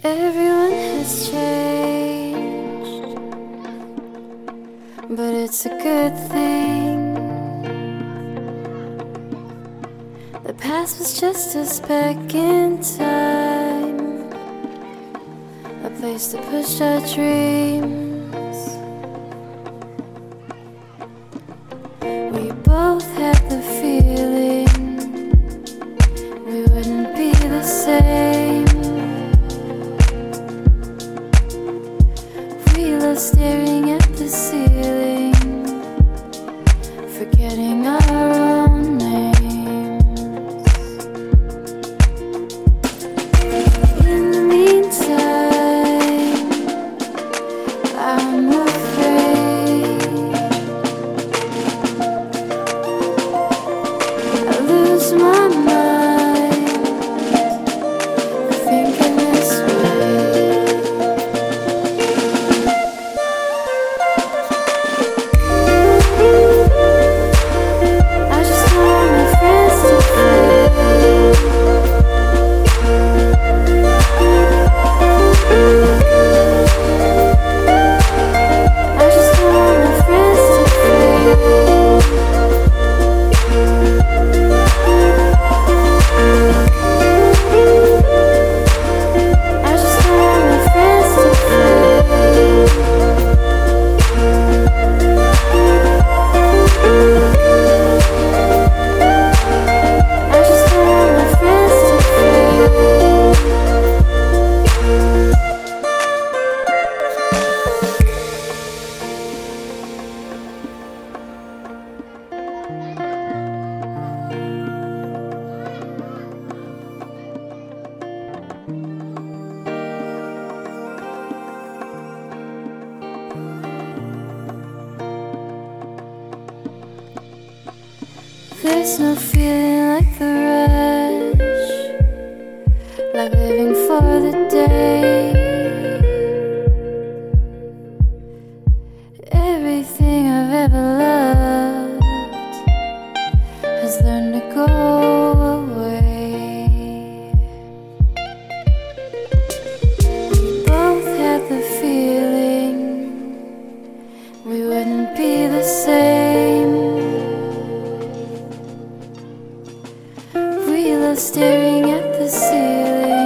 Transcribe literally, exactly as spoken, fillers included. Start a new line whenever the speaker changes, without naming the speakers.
Everyone has changed, but it's a good thing. The past was just a speck in time, a place to push our dreams. We both had the feeling we wouldn't be the same. We love staring at the ceiling, forgetting our own names. In the meantime, I'm afraid I lose my mind thinking this way. I just want my friends to flee. I just want my friends to flee. I just want my friends to flee. I just want my friends to flee. There's no feeling like the rush, like living for the day. Everything I've ever loved has learned to go away. We both had the feeling we wouldn't be the same. We love staring at the ceiling,